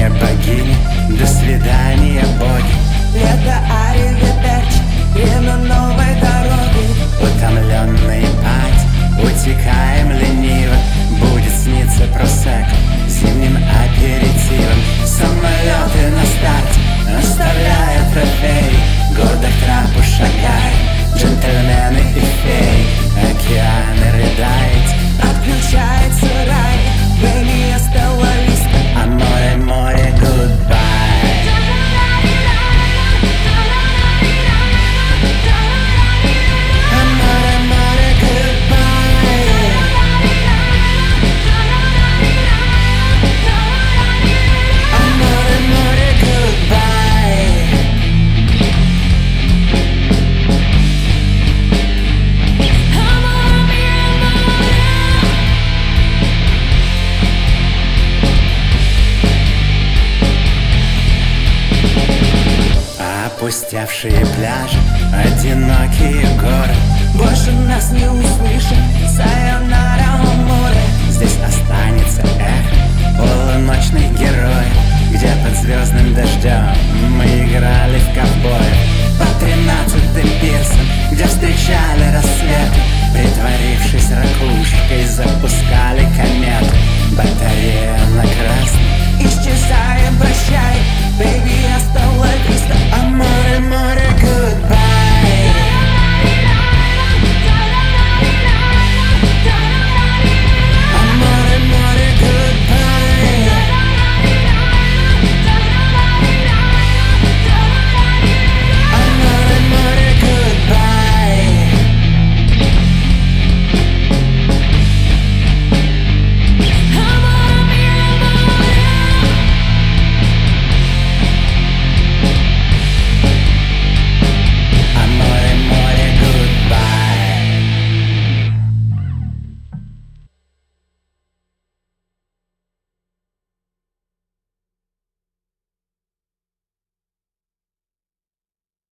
свидания, богини, до свидания, боги. Лето, аривидерчи, время новой дороги. Утомленные пать, утекаем лениво. Будет сниться просекко зимним аперитивом. Самолеты на старте, оставляя трофеи. Гордо к трапу шагает, джентльмены и феи. Океаны рыдает, Отключается рай, время оставались. а море, море, goodbye. А море, море, goodbye. А море, море, goodbye. Опустевшие пляжи, одинокие горы. Больше нас не услышат,